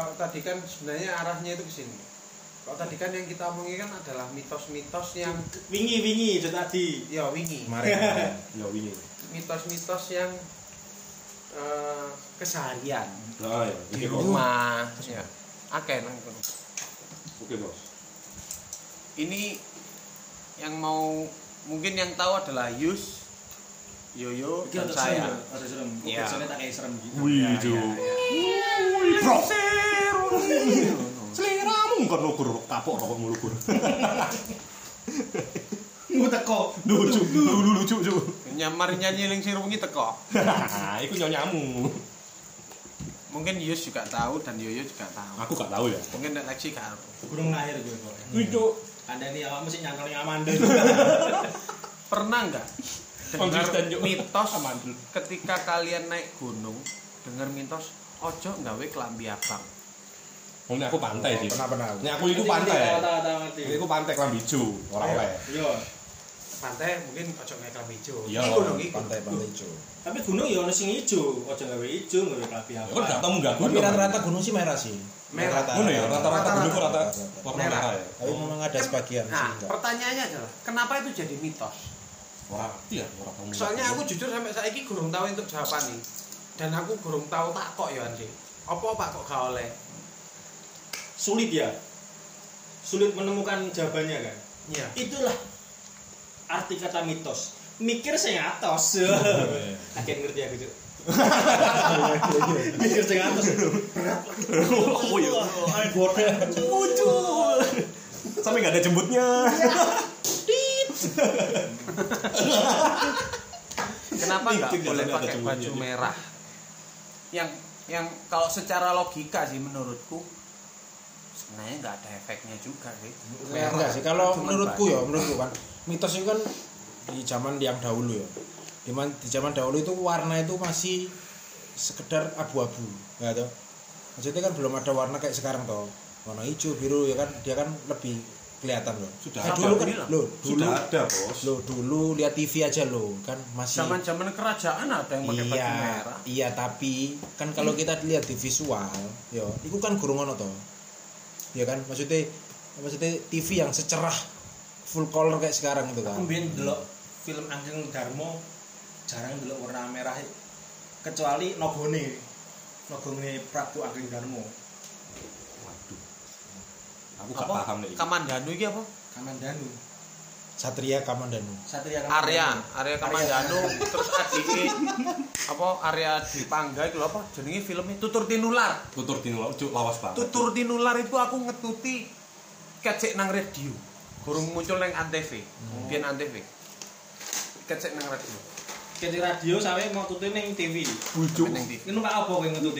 kalau tadi kan sebenarnya arahnya itu ke sini. Kalau tadi kan yang kita omongin kan adalah mitos-mitos yang wingi itu tadi. Ya wingi. Kemarin. Ya wingi. Mitos-mitos yang keseharian Nah, ya. di rumah ya. Akeh nang kono. Oke, Bos. Ini yang mau mungkin yang tahu adalah Yus, Yoyo, dan saya. Ada serem. Iya. Biasanya tak kayak serem gitu. Wih, Jo. Bro. Seliramu kan lugur kapok rokok lugur. Mu teko. Lucu, lucu, Jo. Nyamar nyanyi ning sing wengi teko. Nah, iku nyonyamu. Mungkin Yus juga tahu dan Yoyo juga tahu. Aku gak tahu ya. Mungkin nek Lexi gak tahu. Gurung lahir gue kok. Wih, Jo. Anda nih awakmu sih nyangkal yang Amanda. Pernah enggak Konsisten, dengar Jo. mitos ketika kalian naik gunung, dengar mitos ojo nggawe klambi abang. Ini aku pantai sih. Pernah. Ini aku itu pantai. Ngerti. Ini aku pantai kelambi hijau, ora oleh. Yo. Pantai mungkin ojo nggawe klambi ijo. Iya, Iki gunung iki. Pantai hijau. Tapi gunung ya ono sing ijo, aja gawe ijo, gawe klambi apa. Ya kan gak tau munggah Tapi gunung. rata-rata gunung sih merah sih. Merah. Ngono ya, rata-rata gunung itu rata Rata-rata. warna Merah. merah ya. Tapi memang ada sebagian sih Nah, enggak. pertanyaannya adalah kenapa itu jadi mitos? Ora ngerti ya, ora tau. Soalnya aku jujur sampai saiki gurung tahu untuk jawaban nih. Dan aku gurung tahu tak kok ya anjing. Apa Pak kok gak oleh? Sulit ya. Sulit menemukan jawabannya kan. Iya. Itulah arti kata mitos. Mikir sing atos. Akhirnya ngerti aku, Cuk. Mikir sing atos. Oh iya. Ayo boten. Muncul. Sampai gak ada jembutnya. Kenapa nggak Mikir boleh nggak ada pakai jembutnya, baju dia. merah? Yang kalau secara logika sih menurutku sebenarnya nggak ada efeknya juga sih. Enggak sih, kalau Cuman menurutku baju. kan mitos itu kan di zaman yang dahulu ya. Di zaman dahulu itu warna itu masih sekedar abu-abu, ya toh. Maksudnya kan belum ada warna kayak sekarang toh. Warna hijau, biru ya kan, dia kan lebih kelihatan loh. Sudah Nah, ada, dulu kan bilang. dulu Sudah ada, Bos. dulu lihat TV aja loh, kan masih Zaman-zaman kerajaan ada yang pakai baju iya, merah. iya tapi kan kalau kita lihat di visual, yo, itu kan gurung ono toh. Ya kan, maksudnya TV yang secerah full color kayak sekarang itu kan. Aku mbiyen delok film Angking Darmo jarang delok warna merah kecuali nogone Prabu Angking Darmo. Waduh. Aku gak paham nih. Kamandanu iki apa? Kamandanu. Satria Kamandanu. Satria Arya Kamandanu terus adike apa Arya Dipangga itu lho apa jenenge filmnya Tutur Tinular. Tutur tinul cuk lawas banget. Tutur Tinular itu aku ngetuti kecek nang radio. Gurung muncul nang Antv. Biyen Antv. Kecek nang radio. Kecil radio sampe mau tutup ning TV. Bujuk. Nang TV. Ini numpak apa kowe ngetuti?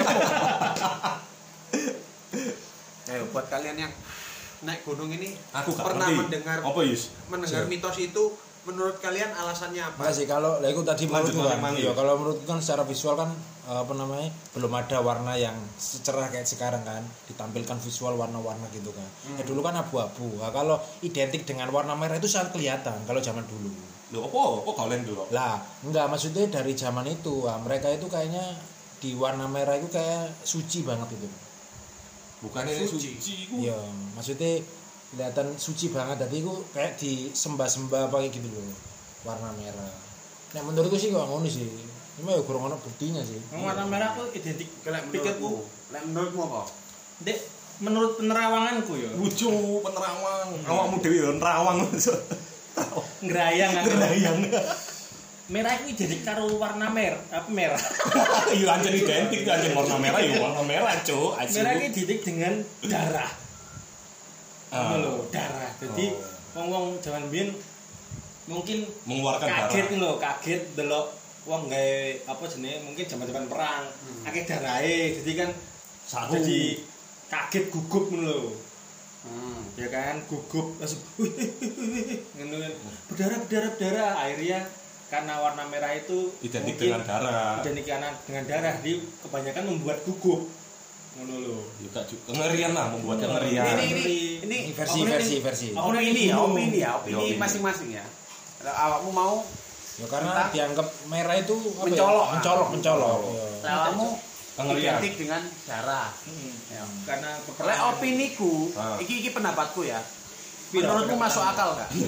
Ayo buat kalian yang naik gunung ini Aku gak pernah ngerti. mendengar Apa, Yus? mitos itu, menurut kalian alasannya apa? Enggak sih, kalau lah itu tadi Lanjut, menurutku kan. Mang, Iya, Yus. kalau menurutku kan secara visual kan apa namanya? Belum ada warna yang secerah kayak sekarang kan, ditampilkan visual warna-warna gitu kan. Ya dulu kan abu-abu. Nah, kalau identik dengan warna merah itu sangat kelihatan kalau zaman dulu. Lho apa kalian dulu? Lah, enggak maksudnya dari zaman itu, mereka itu kayaknya di warna merah itu kayak suci banget itu. Bukannya ini suci iku. Iya, maksudnya kelihatan suci banget. Jadi itu kayak disembah-sembah pakai gitu loh, warna merah. Nah menurutku sih kok ngono sih. Cuma ya kurang ono buktinya sih. Warna merah aku identik Lek pikirku. Lek menurutmu apa? Dek, menurut penerawanganku ya. Bujuk penerawang. Awakmu dhewe ya nerawang. Ngerayang aku. Ngerayang. Merah itu identik karo warna merah. Iya anjen identik anjen warna merah ya warna merah, Cuk. Merah itu identik dengan darah. Ah. Lho, darah. Jadi wong-wong zaman biyen mungkin Mengeluarkan darah. kaget lho, kaget delok wong gawe apa jenenge mungkin zaman-zaman perang, akeh darahe. Jadi kan Saru. jadi kaget gugup ngono lho. Ya Ya kan, gugup langsung ngono kan. Berdarah. Akhirnya karena warna merah itu Identik mungkin dengan darah. Identik dengan darah, di kebanyakan membuat gugup. Ngono lho. Ya gak juga kengerian lah membuat kengerian. Ini versi. opini ya, Iya, opini opini. masing-masing ya. Kalau awakmu mau Ya karena dianggap merah itu apa Mencolok. ya? Mencolok. kalau awakmu Pengelian. identik dengan darah. Ya. Karena Lek opiniku, iki pendapatku ya. Menurutmu masuk akal gak?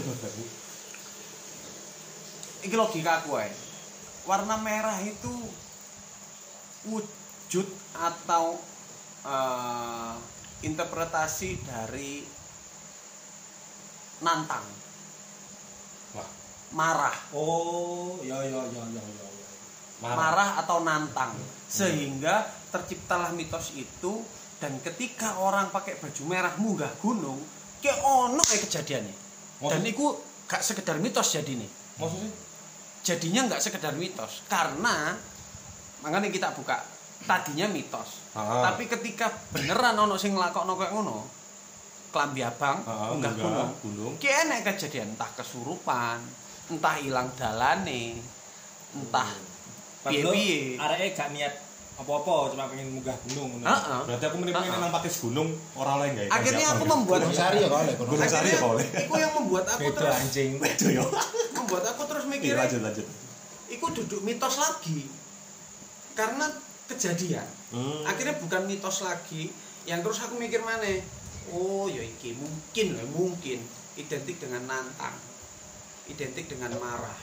Iki logika aku ae. Warna merah itu wujud atau interpretasi dari nantang. Wah. Marah. Oh, ya. Marah atau nantang. Sehingga terciptalah mitos itu dan ketika orang pakai baju merah munggah gunung, kayak ono kayak kejadiannya. Dan itu gak sekedar mitos jadi nih. Maksudnya? Jadinya nggak sekedar mitos karena makanya kita buka tadinya mitos. Tapi ketika beneran ono sing nglakokno koyo ngono, klambi abang munggah gunung. Ki enek kejadian entah kesurupan, entah ilang dalane, entah piye-piye. Areke gak niat apa-apa, cuma pengen munggah gunung. Berarti aku pengen nang pakis gunung ora oleh gawe. Akhirnya aku membuat Gunung Sari ya oleh. Gunung Sari ya oleh. Iku yang membuat aku Beda terus anjing. Itu yo. membuat aku terus mikir. Lanjut. Iku duduk mitos lagi. Karena kejadian. Akhirnya bukan mitos lagi, yang terus aku mikir maneh. Oh, ya iki mungkin identik dengan nantang. Identik dengan marah.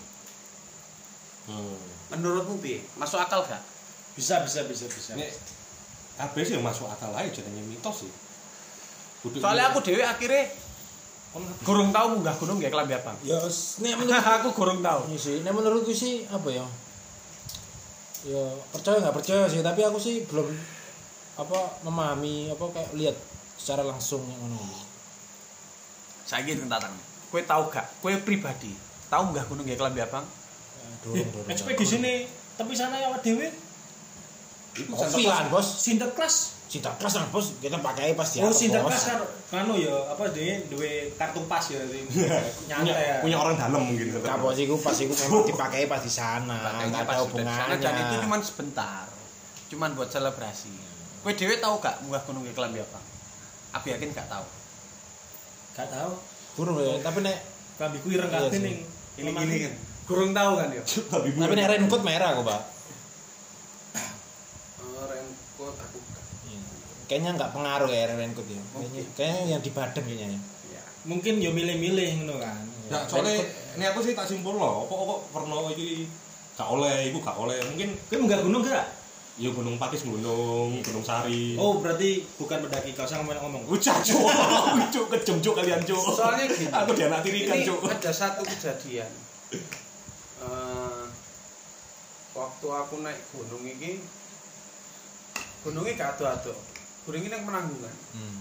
Menurutmu piye? Masuk akal gak? Bisa. Nek kabeh sih masuk akal ae jenenge mitos sih. Soalnya aku dhewe akhirnya gorong tahu munggah gunung nggak kelambi abang. Ya nek menurut Aku gorong tahu. iya sih, nek menurutku sih apa ya? Ya percaya nggak percaya sih, tapi aku sih belum memahami kayak lihat secara langsung yang ngono. Saiki tentang. Kowe tahu gak? Kowe pribadi tahu munggah gunung nggak kelambi abang? Dorong. Ekspedisi nih, tapi sana ya awak dhewe Kopi kan, Bos. Sinterklas. Cinta kelas kan, Bos. Kita pakai pas di Oh, atas, Sinterklas Bos. kan ya apa duwe kartu pas ya nyantai. punya orang dalam mungkin. Kapok sih pas iku memang dipakai pas di sana. Enggak ada hubungannya. Dan itu cuma sebentar. Cuman buat selebrasi. Kowe dhewe tahu gak munggah gunung nggak kelambi abang? Aku yakin gak tahu. Gak tahu. Burung ya, tapi nek Kambiku ireng kabeh ning Ini kan. Gorong tahu kan ya? tapi nek raincoat merah kok, Pak. Raincoat aku gak. Kayaknya enggak pengaruh ya raincoat ya. Kayaknya yang di badan kayaknya. Iya. Mungkin yo milih-milih ngono kan. Ya, soalnya ini aku sih tak simpul loh. Kok pernah iki gak oleh, iku gak oleh. Mungkin Kowe munggah gunung gak? ya Gunung Pakis Gunung Sari. Oh, berarti bukan mendaki kau sang ngomong. Ucap cuk. Cuk kejem cuk kalian cuk. Soalnya gini. Aku dianak tirikan Ini cuk. ada satu kejadian. Waktu aku naik gunung ini, gunungnya gak ado-ado. Gunung ini yang Penanggungan.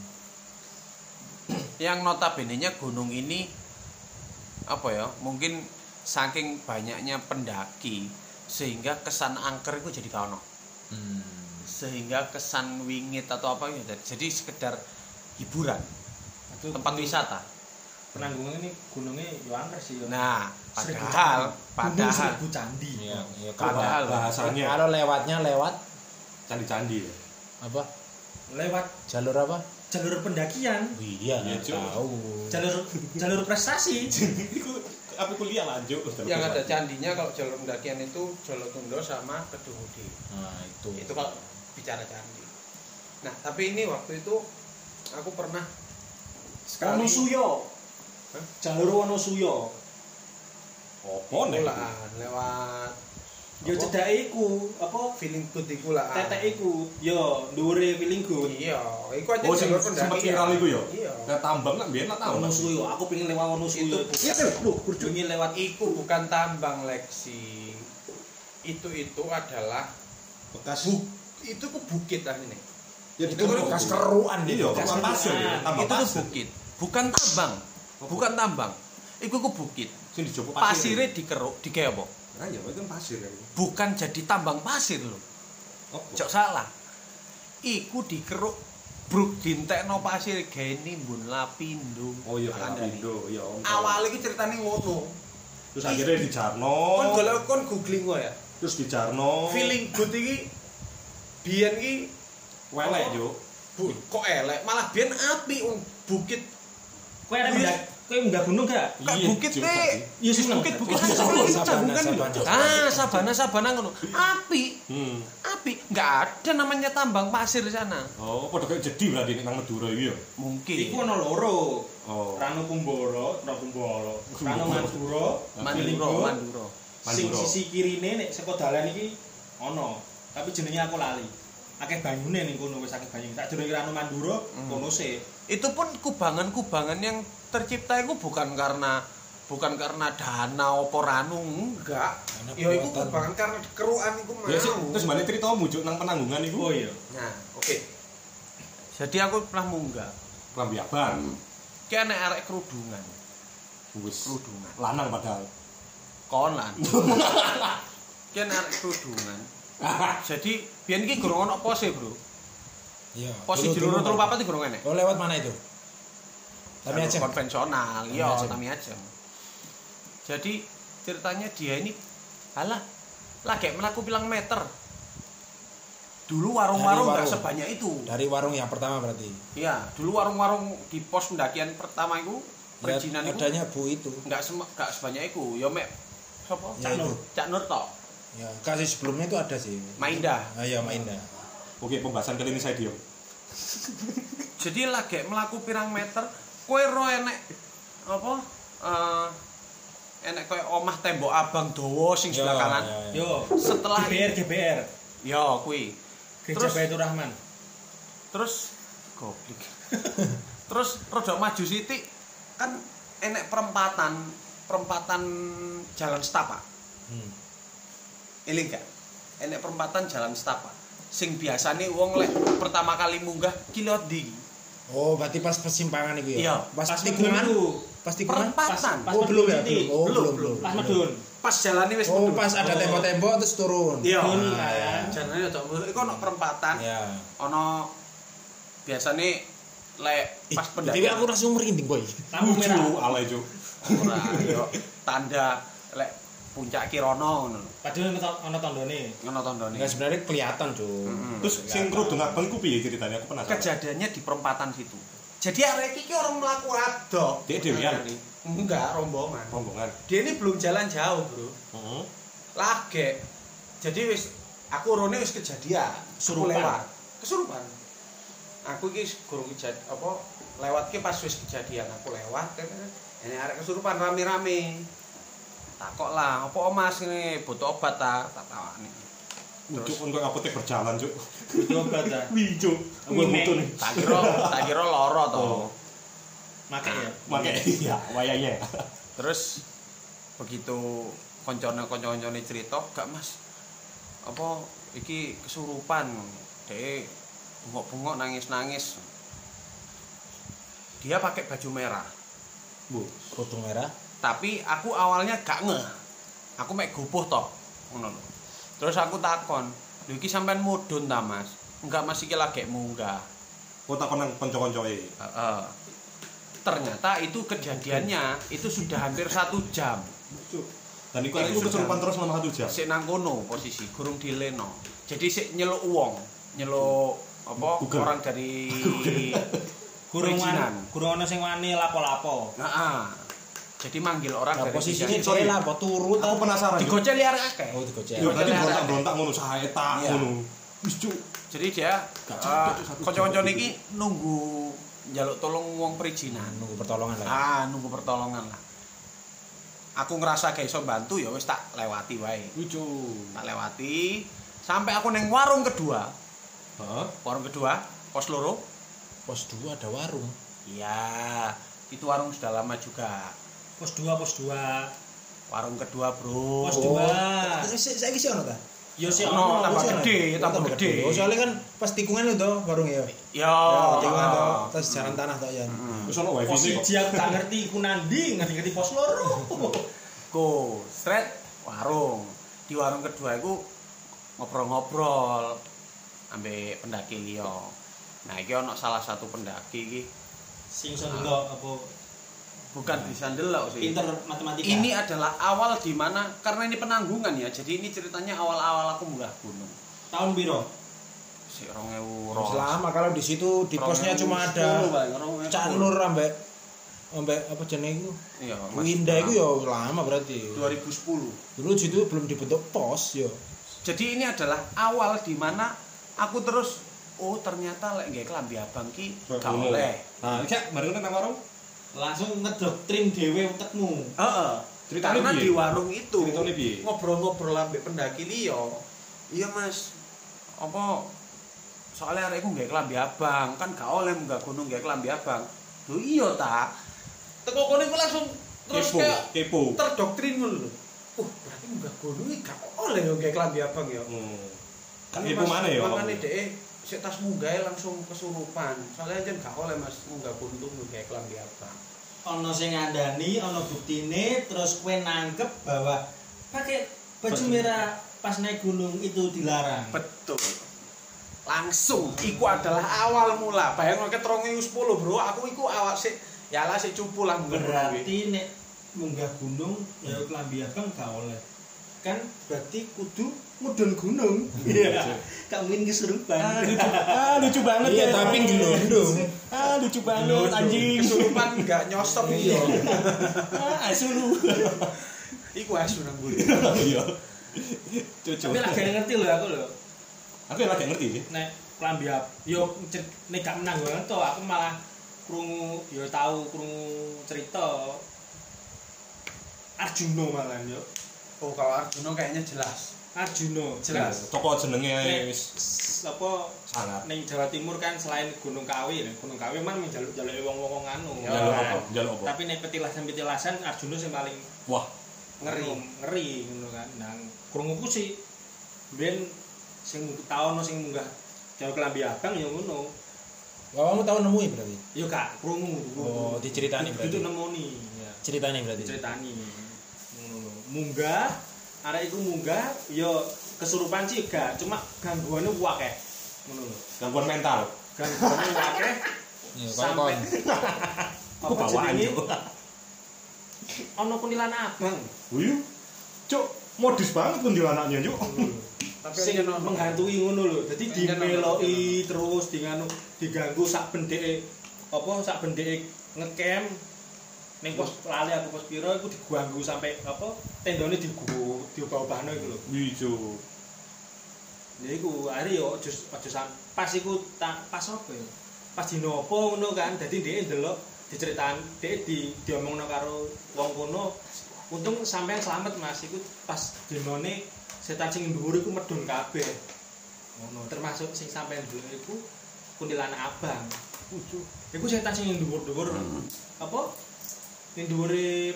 Yang notabene-nya gunung ini apa ya? Mungkin saking banyaknya pendaki sehingga kesan angker itu jadi kaono. Sehingga kesan wingit atau apa ya. Jadi sekedar hiburan. Tempat wisata. Penanggungan ini gunungnya yo angker sih yo. Nah, Gunung padahal Seribu Candi. Iya, Padahal bahasanya kalau lewatnya lewat candi-candi ya. apa? Lewat Jalur apa? jalur pendakian, Iya, Iya, Cuk. tahu. jalur prestasi. Iku apa kuliah lanjut. yang ada candinya kalau jalur pendakian itu Jolotundo sama Kedungudi. Nah, Itu kalau bicara candi. Nah, tapi ini waktu itu aku pernah sekali Wonosuyo. Jalur Wonosuyo. Opo nek? lewat Yo cedake iku, apa feeling good iku lah. tetek iku. Yo dhuwure feeling good. Iya, iku aja Oh, sing jalur sempat pendakian. viral iku ya? Iya. Nah, tambang nak biyen nak tambang. Wonosuyo, aku pengen lewat Wonosuyo. Itu bukan- Kurjungi lewat Iku bukan tambang Leksi. Itu adalah bekas itu ku bukit lah ini. ya itu bekas keruan Iya, gitu. tambang pasir ya, tambang Itu ku pasir. bukit, bukan tambang. Bukan tambang. Iku ku bukit. Sing dijopok Pasire dikeruk, digawe apa? Nah, ya itu kan pasir ya. Bukan jadi tambang pasir loh. Opo? Cok salah. Iku dikeruk bruk dintekno pasir gawe nimbun lapindo. Oh iya, Kandhani. Indo, ya. Awalnya iki ceritane ngono. Terus akhirnya dijarno. Kon golek kon googling kok ya. Terus dijarno. Feeling good iki biyen iki welek, Juk. kok elek, malah biyen api bukit. kowe arek Kowe munggah gunung gak? Kak bukit nih. Iya seneng. Bukit sabana ngono. Api. Api. Enggak ada namanya tambang pasir di sana. Oh, padha kayak jadi berarti nek nang Madura iki ya. Mungkin. Iku ono loro. Oh. Ranu Kumboro. Ranu Manduro. Manduro. Sing sisi kirine nek saka dalan iki ono, tapi jenenge aku lali. Akeh banyune ning kono wis akeh banyu. Tak jenenge Ranu Manduro kono sih. Itu pun kubangan-kubangan yang tercipta itu bukan karena dana apa ranu enggak. Ya itu kubangan karena keruan iku mau. Ya terus balik cerita mujuk nang Penanggungan iku. Oh iya. Nah, oke. Jadi aku pernah munggah. Klambi abang. Ki ana arek kerudungan. Wis Kerudungan. lanang padahal. Konan. Ki ana arek kerudungan. Jadi biyen iki gurung ono pose, Bro. Iya. Pos 1 2 3 4 iki gurung enek. Oh, lewat mana itu? Tami aja. Konvensional, iya, Tami aja. Jadi ceritanya dia ini lagi melaku bilang meter. Dulu warung-warung enggak sebanyak itu. Dari warung yang pertama berarti. Iya, dulu warung-warung di pos pendakian pertama itu perizinan itu adanya Bu itu. Enggak sebanyak itu. Ya mek sapa? Cak Nur tok. Ya, kasih sebelumnya itu ada sih. Maindah. Ah iya, Maindah. Oke, pembahasan kali ini saya diam. Jadi lagi melaku pirang meter, kowe ro enek apa? Enek koyo omah tembok abang dawa sing sebelah kanan. Yo, Setelah GBR. yo kuwi. Gereja Baitur Rahman. Terus goblok. Terus rada maju sithik kan enek perempatan jalan setapak. Ini enggak. Enek perempatan jalan setapak. Sing biasane wong lek pertama kali munggah ki lewat ndi? Oh, berarti pas persimpangan itu ya? Iya, pas tikungan. Pas tikungan. Perempatan. Oh, belum ya? Oh, belum. Pas medun. Pas jalane wis Oh, medun. pas ada tembok-tembok terus turun. Iya. Kan. Jalane ojo iku ono perempatan. Ya. Ono biasane lek pas Tapi pendakian. aku langsung merinding, boy. Lampu merah. Alay, Cuk. Ora yo tanda lek puncak Kirono ngono. Padahal ono tandone. Ngono tandane. Enggak sebenarnya kelihatan, Cuk. Terus sing kerudung abang iku piye ceritanya? Aku penasaran. Kejadiannya di perempatan situ. Jadi arek iki orang mlaku adok. Dek dhewean. Enggak, rombongan. Rombongan. Dia ini belum jalan jauh, Bro. Heeh. Lagi. Jadi wis aku rone wis kejadian. Aku Kesurupan. lewat. Kesurupan. Aku iki gurung kejadian apa lewat ki pas wis kejadian aku lewat ini arek kesurupan rame-rame. Takok lah, apa Mas ini butuh obat ta? Tak tawani. Cuk untuk apotek berjalan, Cuk. Butuh obat ta. Wih, Cuk. Aku butuh nih. Tak kira lara to. Make ya. Make iya, wayangnya. Terus begitu koncone cerita, "Gak Mas, apa iki kesurupan?" Dek bengok-bengok nangis-nangis. Dia pakai baju merah. Bu, Kerudung merah. Tapi aku awalnya gak ngeh. Aku mek gopoh toh, ngono lho. Terus aku takon, "Lho iki sampean mudhun ta, Mas?" "Enggak, Mas, iki lagi munggah." kok takon nang kanca-kancoe. Heeh. Ternyata itu kejadiannya itu sudah hampir 1 jam. Cuk. Dan iku aku kesurupan terus selama 1 jam. Sik nang kono posisi, gurung dileno. Jadi sik nyeluk wong, nyeluk apa Google. orang dari Gurung ono sing wani lapo-lapo. Heeh. Jadi manggil orang Nah, dari posisinya Sorry. cewek lah, apa turu Aku penasaran. Cuk. digocel liar akeh. Oh, digocel. Ya berarti berontak-berontak ngono sae tak Iya. ngono. Wis, Cuk. Jadi dia kanca-kanca niki nunggu njaluk tolong wong perizinan. Nunggu pertolongan lah. Nunggu pertolongan lah. Aku ngerasa gak iso bantu ya wis tak lewati wae. Lucu. Tak lewati sampai aku neng warung kedua. Heeh. Warung kedua, pos loro. Pos 2 ada warung. Iya, itu warung sudah lama juga. Pos 2. Warung kedua, Bro. Pos 2. Saiki sih ono ta? Yo sik Ono, tambah ono. gede, tambah gede. Oh, soalnya kan pas tikungan itu warung ya. Ya, Tikungan to, terus jalan tanah to ya. Wis ono wifi Pos sih kok. 1 aku gak ngerti iku ngerti pos loro. Go, straight warung. Di warung kedua itu ngobrol-ngobrol ambek pendaki liya. Nah, iki ono salah satu pendaki iki Sing iso ndelok apa bukan bisa ndelok sih. pinter matematika. Ini adalah awal di mana karena ini penanggungan ya. Jadi ini ceritanya awal-awal aku munggah gunung. tahun piro? Si 2000 Selama kalau di situ di posnya cuma ada Cak Nur ambek Ambek apa jenenge iku? Iya, Winda iku ya lama berarti. 2010. Dulu itu belum dibentuk pos ya. Jadi ini adalah awal di mana aku terus ternyata lek nggih klambi abang ki gak oleh. Nah, cek mari nang warung. Langsung ngedoktrin dhewe utekmu. Heeh. Karena di warung itu Ceritane piye? ngobrol-ngobrol ambek pendaki liya. Iya Mas. Apa soalnya arekku nggih klambi abang, kan gak oleh munggah gunung nggih klambi abang. Lho iya ta. Teko kono iku langsung terus kayak kepo. terdoktrin ngono lho. Berarti munggah gunung iki gak oleh yo nggih klambi abang ya. Kan kepo maneh ya. Makane dhek sik tas munggah langsung kesurupan. Soalnya jen gak oleh Mas munggah gunung nggih klambi abang. Ana sing ngandani, ana buktine, terus kowe nangkep bahwa pakai baju merah pas naik gunung itu dilarang. Betul. Langsung iku adalah awal mula. Bayangno ket 2010, Bro. Aku iku awak sik ya lah sik cupu lah Berarti nek munggah gunung ya klambi abang gak oleh. Kan berarti kudu mudhun gunung. Iya. Gak mungkin kesurupan. Lucu banget Iya, tapi gelondong. Lucu banget anjing. Kesurupan enggak nyosor iya. Asu lu. Iku asu nang mburi. Iya. Cucu. Tapi lagi ngerti lho aku lho. Aku lagi ngerti sih. Nek klambi yo nek gak menang banget to, aku malah krungu yo tahu krungu cerita Arjuna malah yo. Oh, kalau Arjuna kayaknya jelas. Arjuna Jelas. Toko jenenge Nek, wis apa sangat. ning Jawa Timur kan selain Gunung Kawi, Gunung Kawi man menjaluk-jaluk wong-wong anu. Njaluk apa? Njaluk apa? Tapi nek petilasan-petilasan Arjuna sing paling Wah, ngeri ngono kan. Nah, krunguku sih ben sing taono sing munggah jauh klambi abang ya ngono. Kamu tahu nemu berarti? Yo Kak, krungu. Oh, diceritani berarti. Itu nemoni. Ya. Ceritane berarti. Ceritani. Ngono. Munggah, arek iku munggah yo kesurupan sih gak, cuma gangguane akeh. Ngono lho. gangguan mental. Gangguane akeh. Iya, Sampai Aku bawaan yo. Ono kuntilanak abang. Wuyu. Cuk, modus banget kuntilanaknya, Cuk. Tapi Sing aja ono menghantui ngono lho. Dadi Sing dimeloki terus diganggu sak bendeke sak bendeke ngecamp ning pos lali aku pos piro iku diganggu sampai tendone diubah-ubahno iku lho. Wijo. Lha iku are yo aja pas iku pas apa ya? Pas dino apa ngono kan. Dadi dhek ndelok diceritaan dhek diomongno karo wong kono. Untung sampean selamat Mas iku pas dinone setan sing dhuwur iku medhun kabeh. Ngono, termasuk sing sampean dulu iku kuntilanak abang. Iku setan sing dhuwur-dhuwur. Apa? Ning dhuwure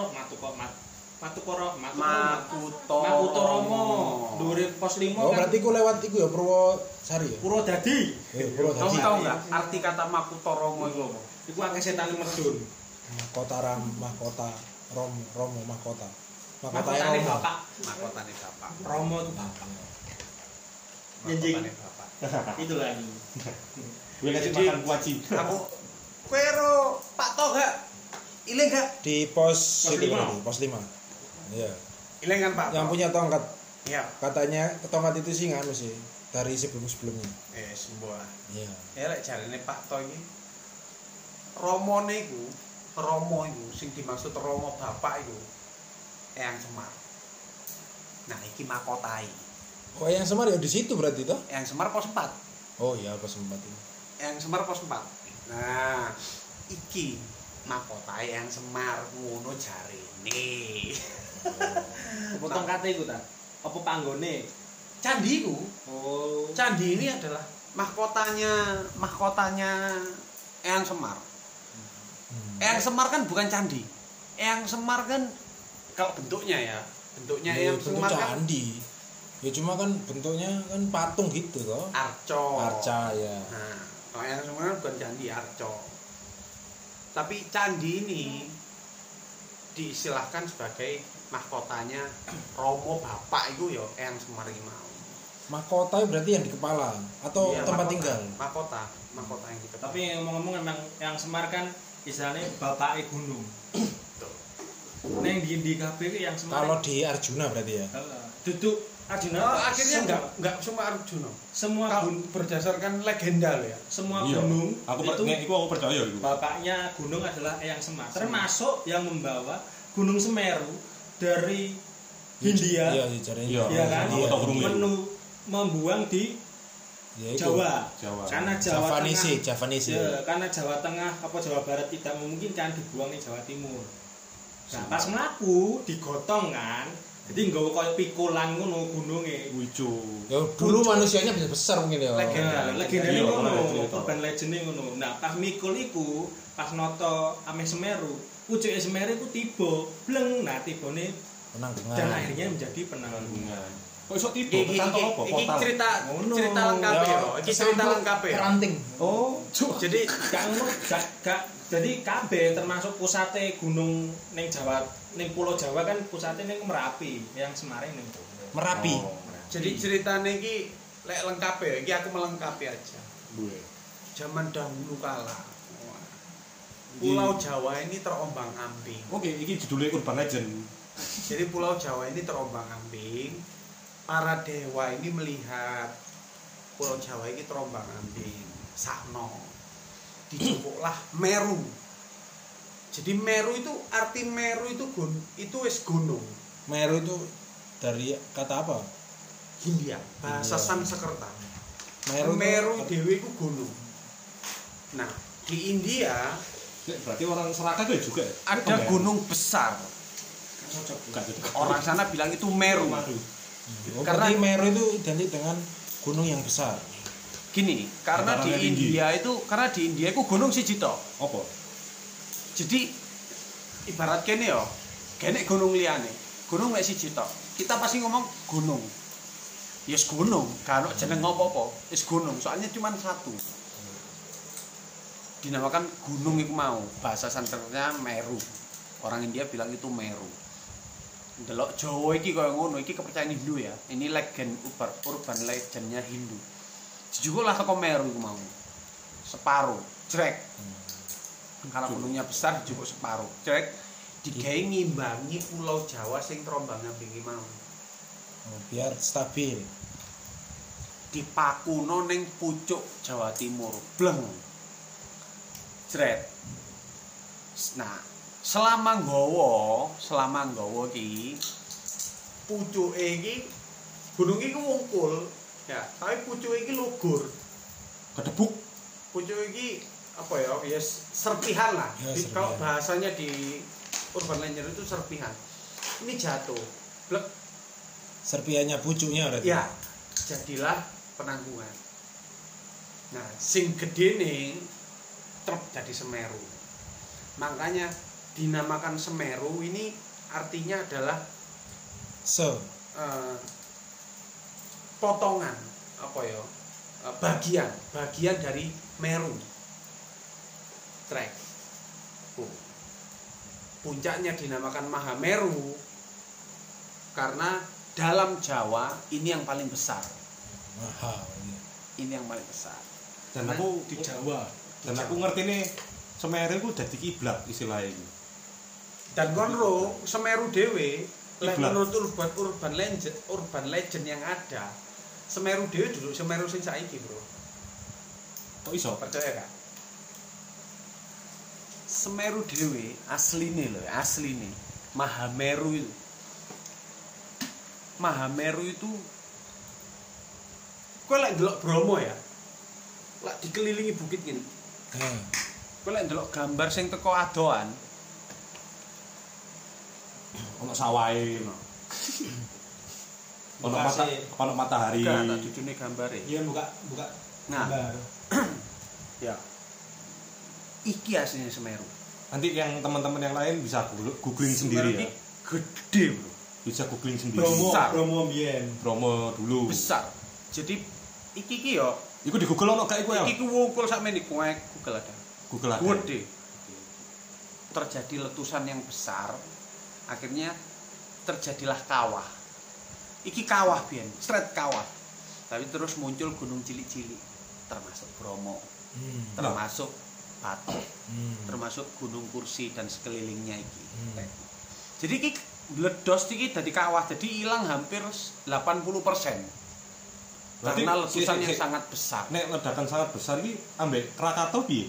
Makutoromo. Dhuwure pos 5 Oh, kan. berarti ku lewat iku ya Purwosari ya? Purwodadi. Purwodadi. tahu enggak arti kata Makutoromo itu apa? Iku akeh setan medhun. Mahkota Romo mahkota. Mahkotane Romo. bapak. Mahkotane bapak. Romo itu bapak. Mahkotane bapak. Itulah ini. Gue kasih Jadi- makan kuaci. Aku kowe ro Pak Tok gak? Iling gak? Di pos Pos itu lima. berarti, pos 5. Iya. Iling kan Pak Yang Tok? punya tongkat. Iya. Katanya tongkat itu sih nganu sih dari sebelum-sebelumnya. Semua. Iya. Ya lek jarene Pak Tok iki Romo iku sing dimaksud Romo bapak iku Eyang Semar. Nah, iki makotai. Oh, yang Semar ya di situ berarti toh? Eyang Semar pos 4. Oh iya, pos 4 ini. Eyang Semar pos 4. Nah, iki makotai Eyang Semar ngono jarene. Apa tongkate iku ta? Apa panggone? Candi iku, Oh. candi ini adalah mahkotanya Eyang Semar. Eyang Semar kan bukan candi. Eyang Semar kan kalau bentuknya ya, bentuknya Ya, Eyang bentuk Semar kan candi. Ya cuma kan bentuknya kan patung gitu toh. arca. Ya. Nah, kalau Eyang Semar kan bukan candi, arca. Tapi candi ini diistilahkan sebagai mahkotanya Romo bapak itu ya Eyang Semar iki mau. Mahkota berarti yang di kepala atau Iya, tempat mahkota. tinggal. Mahkota yang di kepala. Tapi ngomong-ngomong emang yang Semar kan istilahnya bapake gunung. Betul. Neng di kabeh yang Semar. Kalau di Arjuna berarti ya. Duduk Arjuna akhirnya enggak semua Arjuna. Semua berdasarkan legenda loh ya. Semua Iya. gunung Aku percaya itu. bapaknya gunung adalah Eyang Semar. Termasuk yang membawa Gunung Semeru dari Hindia. Iya, caranya. Iya kan? Iya. Membuang di Ya, itu. Jawa. Jawa. Karena Jawa Tengah. Javanese. Ya, karena Jawa Tengah apa Jawa Barat tidak memungkinkan dibuang di Jawa Timur. Nah, pas mlaku digotong kan. Jadi nggawa koyo pikulan ngono gununge. Wicu. Ya dulu manusianya bisa besar mungkin ya. Legenda Iya, ngono, cerita. urban legend ngono. Nah, pas mikul iku, pas noto ame Semeru, pucuke Semeru iku tiba, bleng. Nah, tibane Penanggungan. dan akhirnya menjadi penanggungan. Penanggungan. Kok iso tiba? Iki Kecantol apa? Portal. cerita Ngono. lengkap ya. Ya, Iki cerita lengkap ya. Peranting. Oh, Jadi gak ngono, gak jadi kabeh termasuk pusate gunung ning Jawa, ning Pulau Jawa kan pusate ning Merapi, yang Semarang ning Merapi. Oh. jadi ceritanya iki lek lengkap ya. Iki aku melengkapi aja. Gue. Zaman dahulu kala. Wah. Pulau Jawa ini terombang-ambing. Oke, ini judulnya Urban Legend. Jadi Pulau Jawa ini terombang-ambing. Para dewa ini melihat Pulau Jawa ini terombang-ambing. Sakno. Dijupuklah Meru. Jadi Meru itu arti Meru itu itu wis gunung. Meru itu dari kata apa? Hindia, bahasa Hindia. Sanskerta. Meru Dewi itu gunung. Nah, di India Berarti orang Seraga itu juga ya? ada gunung besar. Gak cocok. Orang sana bilang itu Meru. Karena Karena- Meru itu identik dengan gunung yang besar. Gini, karena di Datarannya tinggi. India itu gunung siji tok. Apa? Jadi ibarat kene yo, kene gunung liyane. Gunung mek siji tok. Kita pasti ngomong gunung. Yes gunung, gak ono jeneng apa-apa. Wis gunung, soalnya cuma satu. Dinamakan gunung iku mau, bahasa Sanskertanya Meru. Orang India bilang itu Meru. Delok Jawa iki kaya ngono, iki kepercayaan Hindu ya. Ini legend urban legendnya Hindu. Jujulah teko Meru iku mau. Separuh, jrek. Karena gunungnya besar dijupuk separuh. Jrek digawe ngimbangi Pulau Jawa sing terombang-ambing mau. Biar stabil. Dipakuno ning pucuk Jawa Timur. Bleng. Jret. Nah, selama nggawa iki pucuke iki gunung iki wungkul ya, tapi pucuke iki lugur. Kedebuk. Pucuk iki apa ya? Ya serpihan lah. Ya, serpihan. Kalau bahasanya di urban legend itu serpihan. Ini jatuh. Blek. Serpiannya pucuknya berarti. Ya, jadilah penanggungan. Nah, sing gede nih truk jadi Semeru. Makanya dinamakan Semeru ini artinya adalah potongan apa ya? Bagian dari Meru. Trek. Puncaknya dinamakan Mahameru karena dalam Jawa ini yang paling besar. Mahal. Ini yang paling besar. Dan aku di Jawa. Dan aku ngerti nih Semeru itu jadi kiblat istilahnya ini. Dan konro Semeru dhewe lek Kiblat. menurut urban legend yang ada, Semeru dhewe dulu Semeru sing saiki, Bro. Kok iso? Percaya kan? Semeru dhewe asline Mahameru itu. Mahameru itu kowe lek ndelok Bromo ya. Lek dikelilingi bukit ngene. Kowe lek ndelok gambar sing teko adoan, Ono sawahe. Ono matahari. gak tak jujune gambare. Iya buka Nah. gambar. Ya. Iki aslinya Semeru. Nanti yang teman-teman yang lain bisa googling sendiri Semeru ya. ini gede, Bro. Bisa googling sendiri. Besar. Bromo mbiyen. Bromo dulu. Besar. Jadi iki yo, Iku di Google ono gak iku ya? iki ku wungkul sakmene kuek Google ada. Google ada. Gede. Terjadi letusan yang besar. Akhirnya terjadilah kawah. Iki kawah biyen, straight kawah. Tapi terus muncul gunung cilik-cilik termasuk Bromo, termasuk Batok, termasuk Gunung Kursi dan sekelilingnya iki. Jadi iki meledos iki dadi kawah, jadi hilang hampir 80%. Karena letusan yang sangat besar. Nek ledakan sangat besar iki ambek Krakatau piye?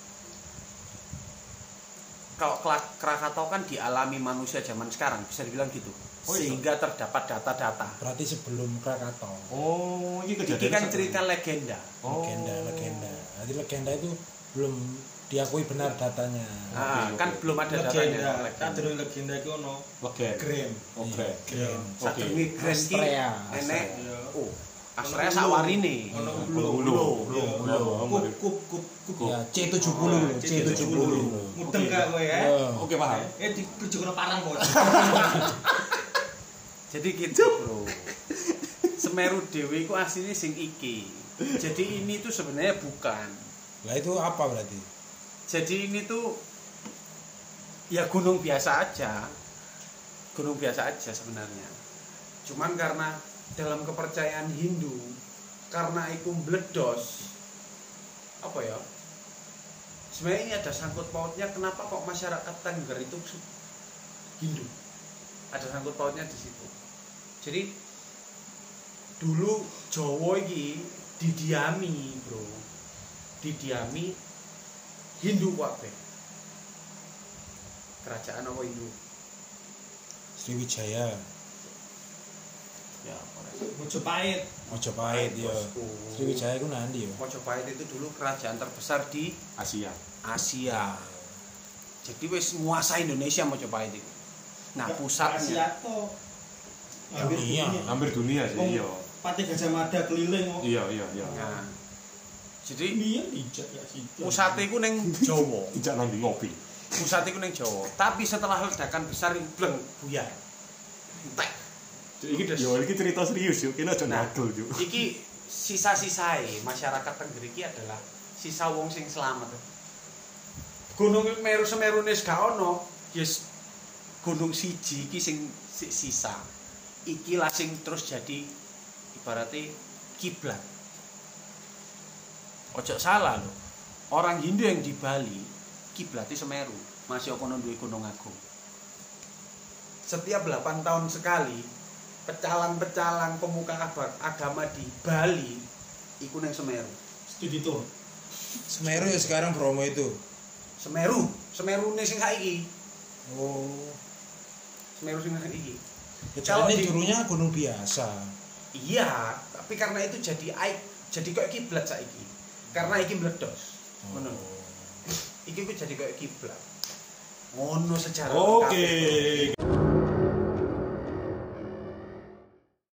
Kalau Krakatau kan dialami manusia zaman sekarang, bisa dibilang gitu. Oh, sehingga terdapat data-data. Berarti sebelum Krakatau. Oh, ini kejadian. Ini kan cerita legenda. Oh. Legenda. Jadi legenda itu belum diakui benar datanya. Kan belum ada datanya. Kadang legenda itu ono Grand. Satu ini Grand ki enek. Oh, Astrea sawarine. Ono kup. Ya, C70. Mudeng gak kowe ya? Oke, paham. Dikerjono parang kok. Jadi gitu, Bro. Semeru Dewi itu aslinya sing iki. Jadi ini tuh sebenarnya bukan. Lah itu apa berarti? Jadi ini tuh ya gunung biasa aja. Gunung biasa aja sebenarnya. Cuman karena dalam kepercayaan Hindu, karena itu meledos, apa ya? Sebenarnya ini ada sangkut pautnya kenapa kok masyarakat Tengger itu Hindu. Ada sangkut pautnya di situ. Jadi dulu Jawa iki didiami, Bro. Didiami Hindu kabeh. Kerajaan apa Hindu? Sriwijaya. Ya, Mojopahit ya. Sriwijaya ku nandi ya. Mojopahit itu dulu kerajaan terbesar di Asia. Jadi wis nguasai Indonesia Mojopahit itu. Nah, pusatnya Hampir dunia sih, iya. Pati Gajah Mada keliling kok. Iya. Nah, jadi ijak ya sih. pusatnya itu neng Jawa. Tidak nanti ngopi. Pusatnya itu neng Jawa. Tapi setelah ledakan besar bleng buyar. Entek. Iki cerita serius yo, kene aja nagel yo. Iki sisa-sisae masyarakat Tengger iki adalah sisa wong sing selamat. Gunung Semeru wis gak ono, yes gunung siji iki sing sisa. Iki lah sing terus jadi ibaratnya kiblat. Ojo salah loh. Orang Hindu yang di Bali kiblatnya Semeru, masih kono duwe gunung agung. Setiap 8 tahun sekali pecalang-pecalang pemuka agama di Bali iku nang Semeru. Studi tuh. Semeru ya sekarang Bromo itu. Semeru sing saiki. Oh. Semeru sing saiki. Kalau ini dulunya gunung biasa. Iya, tapi karena itu jadi kayak kiblat saiki. Karena iki meledos. Ngono. Iki ku jadi kayak kiblat. Ngono sejarah. Oke.